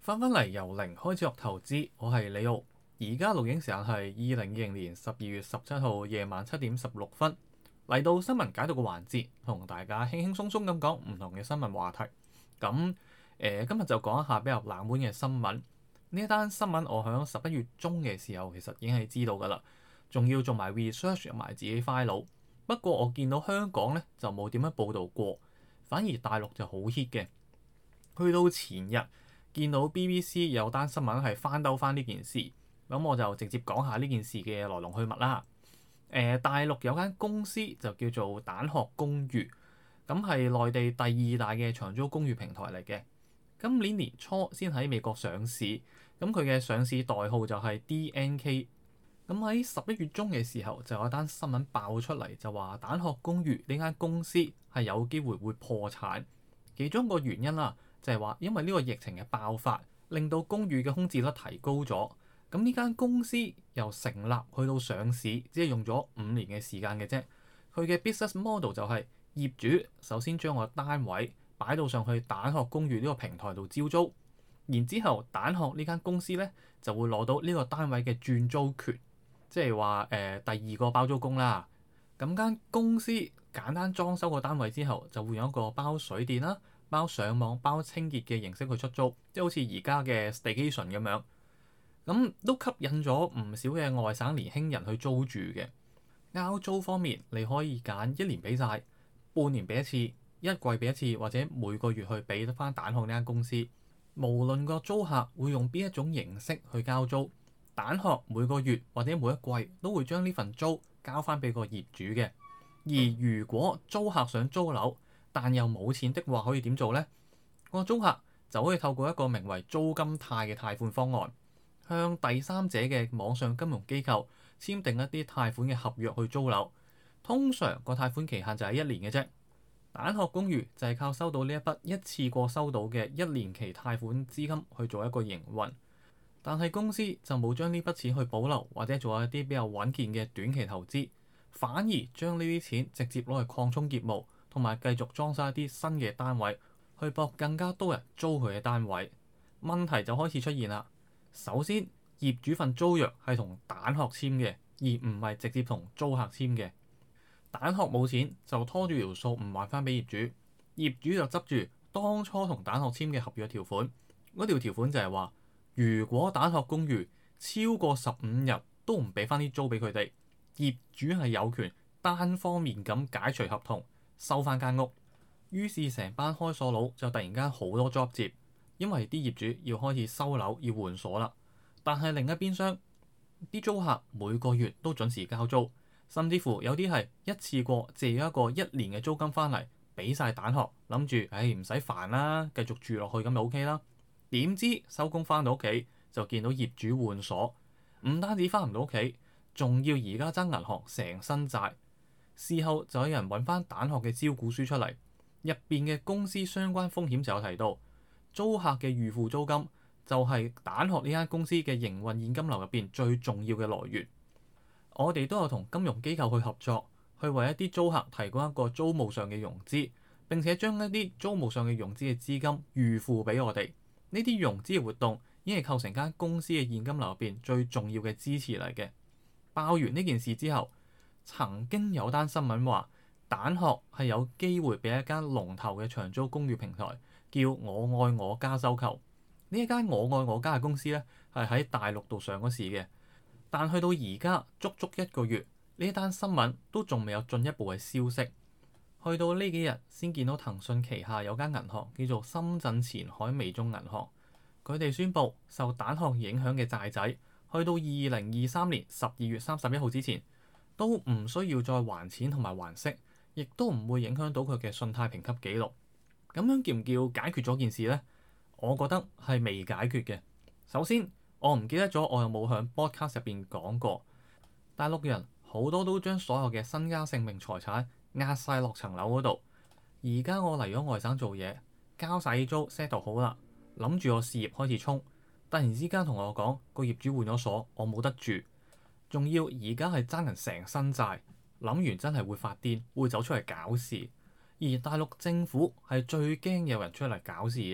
翻返嚟由零開始學投資，我係李奧。而家錄影時間係2020年12月17號夜晚7點16分。嚟到新聞解讀嘅環節，同大家輕輕鬆鬆咁講唔同嘅新聞話題。今日就講一下比較冷門嘅新聞。呢一單新聞我響11月中嘅時候其實已經係知道㗎啦，仲要做埋 research 入埋自己 file。不過我見到香港咧就冇點樣報導過，反而大陸就好 hit 嘅。去到前日見到 BBC 有單新聞係翻兜翻呢件事，咁我就直接講下呢件事嘅來龍去脈啦。大陸有間公司就叫做蛋殼公寓，咁係內地第二大嘅長租公寓平台嚟嘅。今年年初先喺美國上市，咁佢嘅上市代號就係 DNK。咁喺11月中嘅時候就有單新聞爆出嚟，就話蛋殼公寓呢間公司係有機會會破產。其中一個原因啦，就係話因為呢個疫情嘅爆發，令到公寓嘅空置率提高咗。咁呢間公司由成立去到上市，只係用咗5年嘅時間嘅啫。佢嘅 business model 就係業主首先將個單位擺到上去蛋殼公寓呢個平台度招租，然之後蛋殼呢間公司咧就會攞到呢個單位嘅轉租權，即係話第二個包租公啦。咁間公司簡單裝修個單位之後，就會有一個包水電啦、包上網、包清潔嘅形式去出租，即係好似而家嘅 staycation 咁樣。咁都吸引咗唔少嘅外省年輕人去租住嘅。交租方面，你可以揀1年俾晒、半年俾一次、一季俾一次，或者每個月去俾得翻蛋殼呢間公司。無論個租客會用邊一種形式去交租，蛋殼每個月或者每一季都會將呢份租交翻俾個業主嘅。而如果租客想租樓，但又冇錢的話，可以點做呢？個租客就可以透過一個名為租金貸嘅貸款方案，向第三者嘅網上金融機構簽訂一啲貸款嘅合約去租樓。通常個貸款期限就係1年嘅啫。蛋殼公寓就係靠收到呢一筆一次過收到嘅1年期貸款資金去做一個營運，但係公司就冇將呢筆錢去保留或者做一啲比較穩健嘅短期投資，反而將呢啲錢直接攞去擴充業務，同埋繼續裝修一啲新嘅單位，去博更加多人租佢嘅單位。問題就開始出現啦。首先，業主份租約係同蛋殼簽嘅，而唔係直接同租客簽嘅。蛋殼冇錢就拖住條數唔還翻俾業主，業主就執住當初同蛋殼簽嘅合約條款。嗰條條款就係話，如果蛋殼公寓超過15日都唔俾翻啲租俾佢哋，業主係有權單方面咁解除合同，收翻間屋。於是成班開鎖佬就突然間好多 job 接，因為啲業主要開始收樓要換鎖啦。但係另一邊廂，啲租客每個月都準時交租，甚至乎有啲係一次過借咗一個1年嘅租金翻嚟，俾晒蛋殼，諗住唔使煩啦，繼續住落去咁就 OK 啦。點知收工翻到屋企就見到業主換鎖，唔單止翻唔到屋企，仲要而家爭銀行成身債。事後就有人揾翻蛋殼嘅招股書出嚟，入邊嘅公司相關風險就有提到，租客嘅預付租金就係蛋殼呢間公司嘅營運現金流入邊最重要嘅來源。我哋都有同金融機構去合作，去為一啲租客提供一個租務上嘅融資，並且將一啲租務上嘅融資嘅資金預付俾我哋。呢啲融資嘅活動已經係構成間公司嘅現金流入邊最重要嘅支持嚟嘅。爆完呢件事之後，曾經有單新聞話蛋殼係有機會俾一間龍頭嘅長租公寓平台叫我愛我家收購。呢一間我愛我家嘅公司咧，係喺大陸度上咗市嘅，但去到而家足足1個月，呢一單新聞都仲未有進一步嘅消息。去到呢幾日先見到騰訊旗下有間銀行叫做深圳前海微眾銀行，佢哋宣布受蛋殼影響嘅債仔，去到2023年12月31號之前，都唔需要再還錢同埋還息，亦都唔會影響到佢嘅信貸評級記錄。咁樣叫唔叫解決咗件事呢？我覺得係未解決嘅。首先，我唔記得咗我有冇響 podcast 入邊講過，大陸人好多都將所有嘅身家性命財產壓晒落層樓嗰度。而家我嚟咗外省做嘢，交晒租 settle 好啦，諗住我事業開始衝，突然之間同我講個業主換咗鎖，我冇得住，仲要而家係爭人成身債，諗完真係會發癲，會走出嚟搞事。而大陸政府係最驚有人出嚟搞事嘅，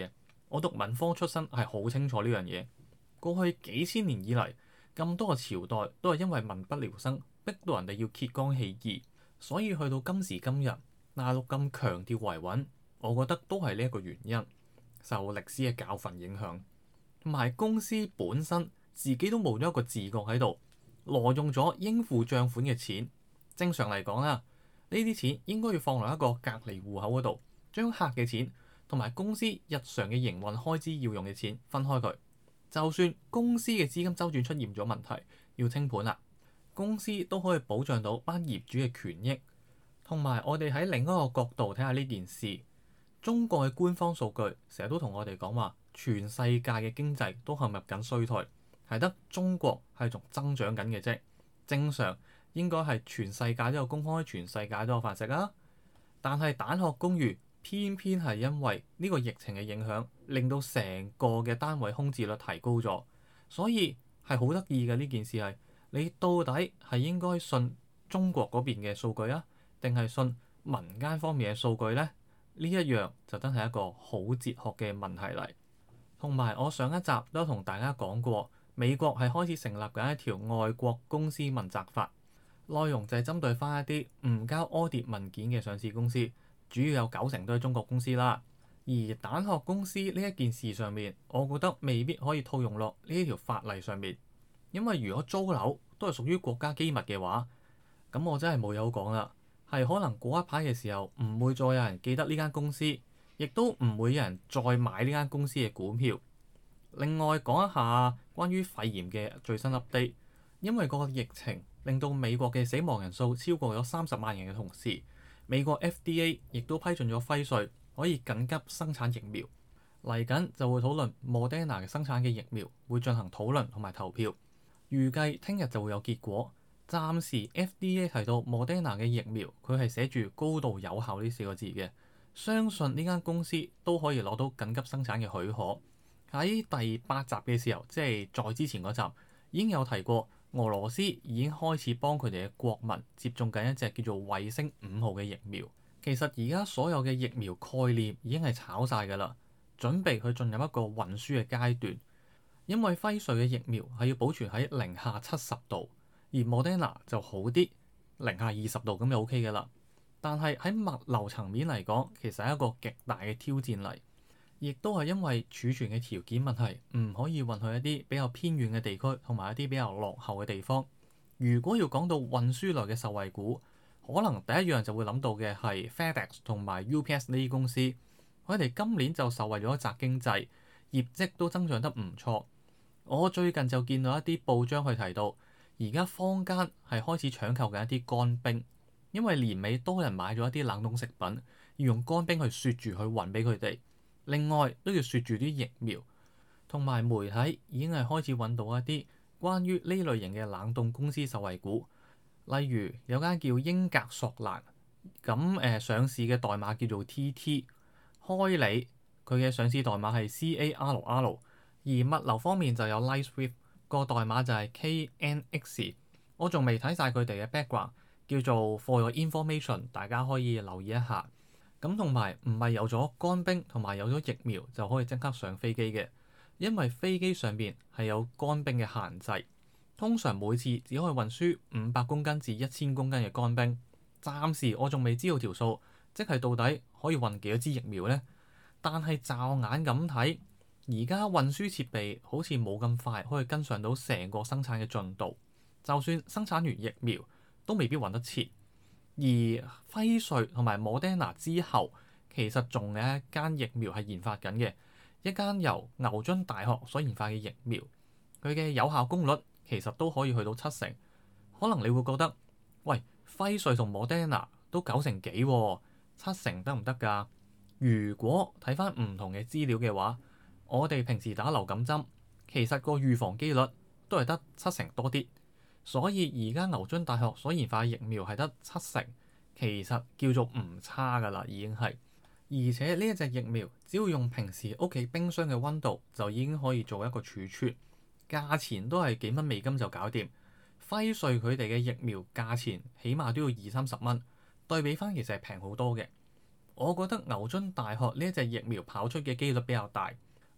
我讀文科出身係好清楚呢樣嘢。過去幾千年以嚟，咁多個朝代都係因為民不聊生，逼到人哋要揭竿起義，所以去到今時今日，大陸咁強調維穩，我覺得都係呢一個原因，受歷史嘅教訓影響，同埋公司本身自己都冇咗一個自覺喺度，挪用咗應付帳款嘅錢。正常嚟講啦，呢啲錢應該要放落一個隔離戶口嗰度，將客嘅錢同埋公司日常嘅營運開支要用嘅錢分開佢。就算公司嘅資金周轉出現咗問題，要清盤啦，公司都可以保障到班業主嘅權益。同埋我哋喺另一個角度睇下呢件事，中國嘅官方數據成日都同我哋講話，全世界嘅經濟都陷入緊衰退，係得中國係仲增長緊嘅啫。正常應該係全世界都有工開，全世界都有飯食啊。但係蛋殼公寓偏偏係因為呢個疫情嘅影響，令到成個嘅單位空置率提高咗，所以係好得意嘅。呢件事係你到底係應該信中國嗰邊嘅數據啊，定係信民間方面嘅數據呢？呢一樣就真係一個好哲學嘅問題嚟。同埋我上一集都同大家講過，美國係開始成立緊一條外國公司問責法，內容就係針對翻一啲唔交 audit 文件嘅上市公司，主要有90%都係中國公司啦。而蛋殼公司呢一件事上面，我覺得未必可以套用落呢條法例上面，因為如果租樓都係屬於國家機密嘅話，咁我真係冇嘢好講啦。係可能過一排嘅時候，唔會再有人記得呢間公司，亦都唔會有人再買呢間公司嘅股票。另外講一下關於肺炎嘅最新 update，因為個疫情令到美國嘅死亡人數超過咗30萬人嘅同時，美國 FDA 亦都批准咗輝瑞可以緊急生產疫苗。嚟緊就會討論 Moderna 嘅生產嘅疫苗，會進行討論同埋投票，預計聽日就會有結果。暫時 FDA 提到 Moderna 嘅疫苗，佢係寫住高度有效呢4個字嘅，相信呢間公司都可以攞到緊急生產嘅許可。喺第8集嘅時候，即係再之前嗰集已經有提過，俄羅斯已經開始幫佢哋嘅國民接種緊一隻叫做衛星5號嘅疫苗。其實而家所有嘅疫苗概念已經係炒晒㗎啦，準備去進入一個運輸嘅階段，因為輝瑞嘅疫苗係要保存喺零下70度。而 Moderna 就好啲，零下20度咁就 OK 嘅啦。但係喺物流層面嚟講，其實係一個極大嘅挑戰嚟，亦都係因為儲存嘅條件問題，唔可以運去一啲比較偏遠嘅地區同埋一啲比較落後嘅地方。如果要講到運輸類嘅受惠股，可能第一樣就會諗到嘅係 FedEx 同埋 UPS 呢啲公司，佢哋今年就受惠咗宅經濟，業績都增長得唔錯。我最近就見到一啲報章去提到，而家坊間係開始搶購緊一啲乾冰，因為年尾多人買咗一啲冷凍食品，要用乾冰去雪住去運俾佢哋。另外都要雪住啲疫苗，同埋媒體已經係開始揾到一啲關於呢類型嘅冷凍公司受惠股，例如有間叫英格索蘭，咁上市嘅代碼叫做 TT， 開利佢嘅上市代碼係 CARR， 而物流方面就有 LightSwift。個代碼就係 KNX， 我仲未睇晒佢哋嘅 background， 叫做 For Your Information， 大家可以留意一下。咁同埋唔係有咗乾冰同埋有咗疫苗就可以即刻上飛機嘅，因為飛機上邊係有乾冰嘅限制，通常每次只可以運輸500公斤至1000公斤嘅乾冰。暫時我仲未知道條數，即係到底可以運幾多支疫苗呢？但係驟眼咁睇，而家運輸設備好似冇咁快可以跟上到成個生產嘅進度，就算生產完疫苗都未必運得切。而輝瑞同埋 Moderna 之後，其實仲有一間疫苗係研發緊嘅，一間由牛津大學所研發嘅疫苗，佢嘅有效功率其實都可以去到70%。可能你會覺得，喂，輝瑞同 Moderna 都90%幾喎，70%得唔得㗎？如果睇翻唔同嘅資料嘅話，我哋平時打流感針，其實個預防機率都係得70%多啲，所以而家牛津大學所研發嘅疫苗係得70%，其實叫做唔差㗎啦，已經係。而且呢一隻疫苗只要用平時屋企冰箱嘅溫度就已經可以做一個儲存，價錢都係幾蚊美金就搞掂。輝瑞佢哋嘅疫苗價錢起碼都要20-30蚊，對比翻其實係平好多嘅。我覺得牛津大學呢一隻疫苗跑出嘅機率比較大，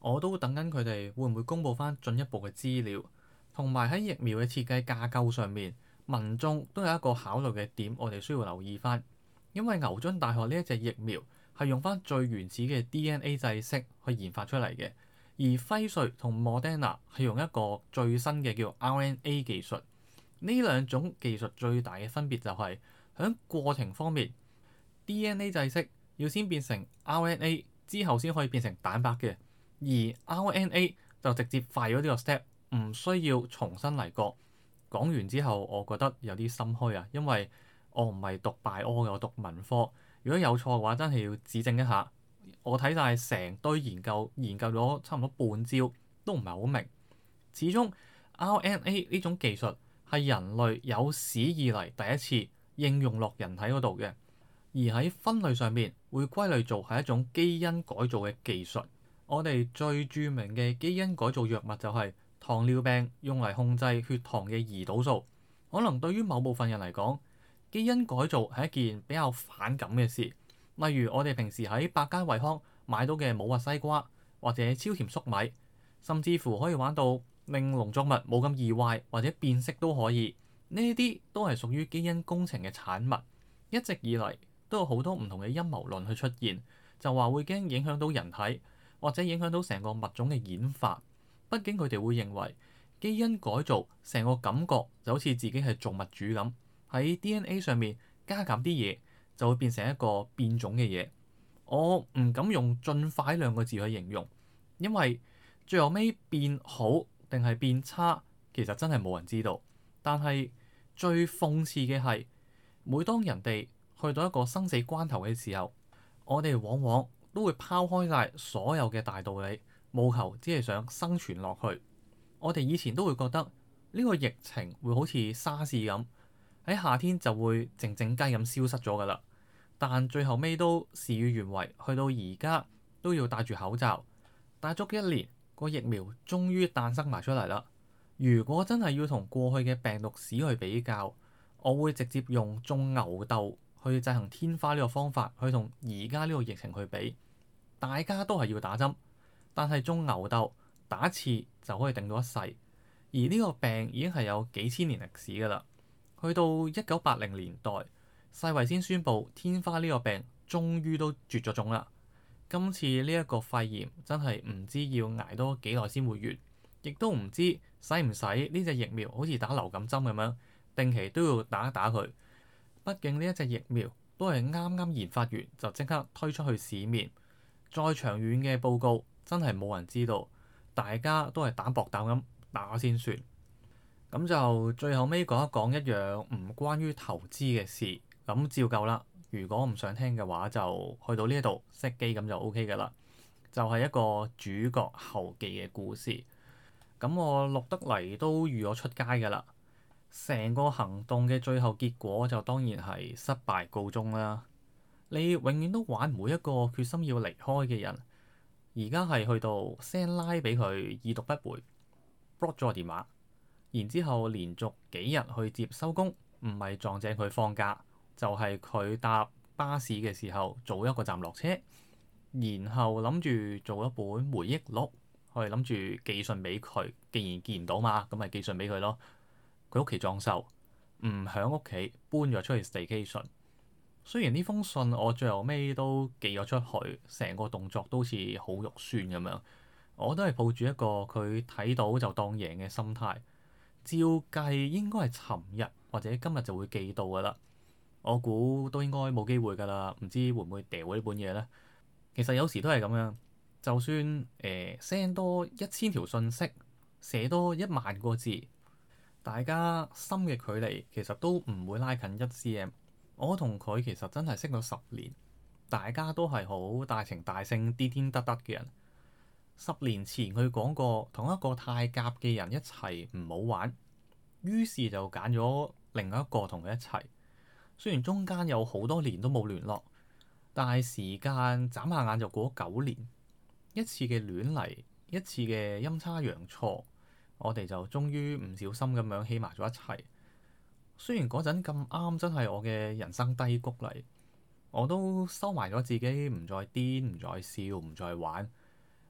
我都等緊佢哋會唔會公佈翻進一步嘅資料，同埋喺疫苗嘅設計架構上面，民眾都有一個考慮嘅點，我哋需要留意翻。因為牛津大學呢一隻疫苗係用翻最原始嘅 DNA 製式去研發出嚟嘅，而輝瑞同 Moderna 係用一個最新嘅叫 RNA 技術。呢兩種技術最大嘅分別就係喺過程方面，DNA 製式要先變成 RNA 之後先可以變成蛋白嘅，而 RNA 就直接快咗呢個 step，唔需要重新嚟過。講完之後，我覺得有啲心虛啊，因為我唔係讀 bio 嘅，我讀文科。如果有錯嘅話，真係要指正一下。我睇晒成堆研究，研究咗差唔多半朝，都唔係好明。始終 RNA 呢種技術係人類有史以嚟第一次應用落人體嗰度嘅，而喺分類上面會歸類做係一種基因改造嘅技術。我哋最著名嘅基因改造藥物就係糖尿病用嚟控制血糖嘅胰島素。可能對於某部分人嚟講，基因改造係一件比較反感嘅事。例如我哋平時喺百佳惠康買到嘅冇核西瓜或者超甜粟米，甚至乎可以玩到令農作物冇咁易壞或者變色都可以。呢啲都係屬於基因工程嘅產物。一直以嚟都有好多唔同嘅陰謀論去出現，就話會驚影響到人體或者影響到成個物種嘅演化。畢竟佢哋會認為基因改造成個感覺就好似自己係造物主咁，喺 DNA 上面加減啲嘢就會變成一個變種嘅嘢。我唔敢用進化兩個字去形容，因為最後尾變好定係變差，其實真係冇人知道。但係最諷刺嘅係，每當人哋去到一個生死關頭嘅時候，我哋往往都會拋開晒所有嘅大道理，務求只係想生存落去。我哋以前都會覺得呢個疫情會好似沙士咁，喺夏天就會靜靜雞咁消失咗㗎啦。但最後尾都事與願違，去到而家都要戴住口罩，戴足一年，個疫苗終於誕生埋出嚟啦。如果真係要同過去嘅病毒史去比較，我會直接用種牛痘去制衡天花呢個方法去同而家呢個疫情去比。大家都係要打針，但係種牛痘打一次就可以定到一世，而呢個病已經係有幾千年歷史㗎啦。去到1980年代，世衛先宣布天花呢個病終於都絕咗種啦。今次呢一個肺炎真係唔知要捱多幾耐先會完，亦都唔知使唔使呢隻疫苗好似打流感針咁樣，定期都要打一打佢。畢竟呢一隻疫苗都係啱啱研發完就即刻推出去市面，再長遠嘅報告真係冇人知道，大家都係膽薄膽咁打先算。咁就最後尾講一講一樣唔關於投資嘅事，咁照舊啦。如果唔想聽嘅話，就去到呢一度熄機咁就 OK 㗎啦。就係一個主角後記嘅故事。咁我錄得嚟都預咗出街㗎啦。成個行動嘅最後結果就當然係失敗告終啦。你永遠都玩唔每一個決心要離開嘅人。而家係去到 send line 俾佢已讀不回 block 咗個電話，然之後連續幾日去接收工，唔係撞正佢放假，就係佢搭巴士嘅時候早一個站落車，然後諗住做一本回憶錄，我哋諗住寄信俾佢。既然見唔到嘛，咁咪寄信俾佢咯。佢屋企裝修，唔喺屋企，搬咗出去 staycation。雖然呢封信我最後尾都寄咗出去，成個動作都好似好肉酸咁樣，我都係抱住一個佢睇到就當贏嘅心態。照計應該係尋日或者今日就會寄到㗎啦。我估都應該冇機會㗎啦，唔知會唔會掉呢本嘢呢？其實有時都係咁樣，就算send 多1000條信息，寫多1萬個字，大家心嘅距離其實都唔會拉近1cm。我同佢其實真係識咗10年，大家都係好大情大性、癲癲得得嘅人。10年前佢講過，同一個太夾嘅人一齊唔好玩，於是就揀咗另一個同佢一齊。雖然中間有好多年都冇聯絡，但係時間眨下眼就過咗9年。一次嘅亂嚟，一次嘅陰差陽錯，我哋就終於唔小心咁樣起埋咗一齊。雖然嗰陣咁啱真係我嘅人生低谷嚟，我都收埋咗自己，唔再癲，唔再笑，唔再玩。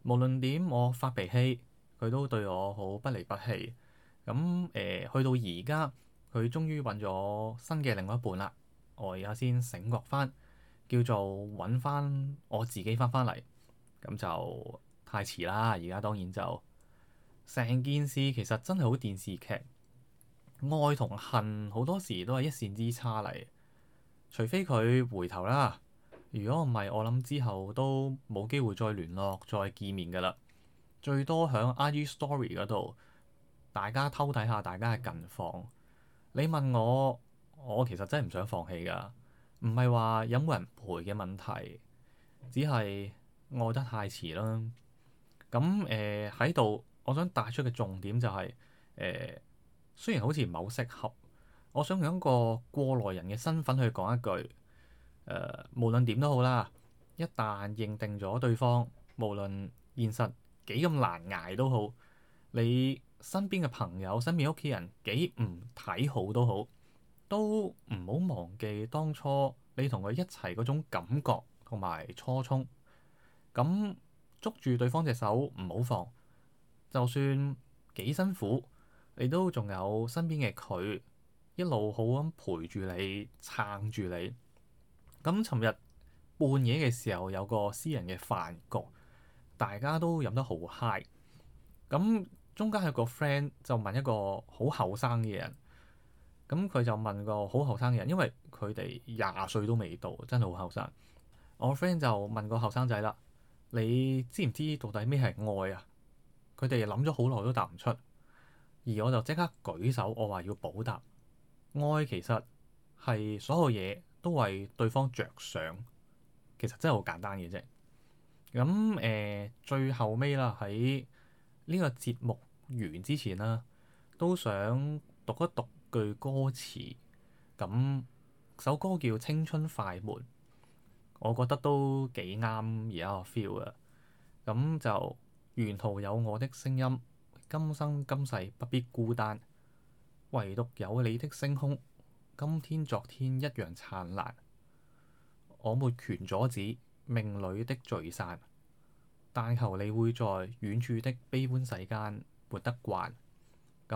無論點我發脾氣，佢都對我好不離不棄。咁去到而家，佢終於揾咗新嘅另外一半啦。我而家先醒覺翻，叫做揾翻我自己翻嚟，咁就太遲啦。而家當然就成件事其實真係好電視劇，愛同恨好多時都係一線之差嚟。除非佢回頭啦，如果唔係，我諗之後都冇機會再聯絡、再見面㗎啦。最多喺 IG Story 嗰度，大家偷睇下大家嘅近況。你問我，我其實真係唔想放棄㗎，唔係話有冇人陪嘅問題，只係愛得太遲啦。咁喺度，我想帶出嘅重點就係、雖然好似唔係好適合，我想用一個過來人嘅身份去講一句，無論點都好啦，一旦認定咗對方，無論現實幾咁難捱都好，你身邊嘅朋友、身邊屋企人幾唔睇好都好，都唔好忘記當初你同佢一齊嗰種感覺同埋初衷。咁捉住對方隻手唔好放，就算幾辛苦，你都仲有身邊嘅佢一路好咁陪住你、撐住你。咁尋日半夜嘅時候有個私人嘅飯局，大家都飲得好嗨。咁中間有個 friend 就問一個好後生嘅人，咁佢就問個好後生嘅人，因為佢哋廿歲都未到，真係好後生。我 friend 就問個後生仔啦：你知唔知到底咩係愛啊？佢哋諗咗好耐都答唔出，而我就即刻舉手，我話要補答。愛其實係所有嘢都為對方着想，其實真係好簡單嘅啫。咁最後尾啦，喺呢個節目完之前啦，都想讀一讀句歌詞。咁首歌叫《青春快門》，我覺得都幾啱而家個 feel 嘅。咁就沿途有我的聲音，今生今世不必孤單，唯獨有你的星空，今天昨天一樣燦爛。我沒權阻止命裏的聚散，但求你會在遠處的悲歡世間活得慣。咁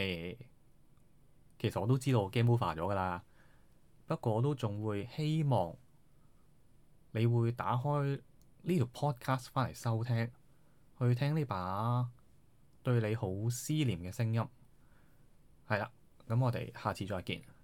其實我都知道 game over 咗㗎啦，不過我都仲會希望你會打開呢條 podcast 翻嚟收聽，去聽呢把對你好思念嘅聲音。係啦，咁我哋下次再見。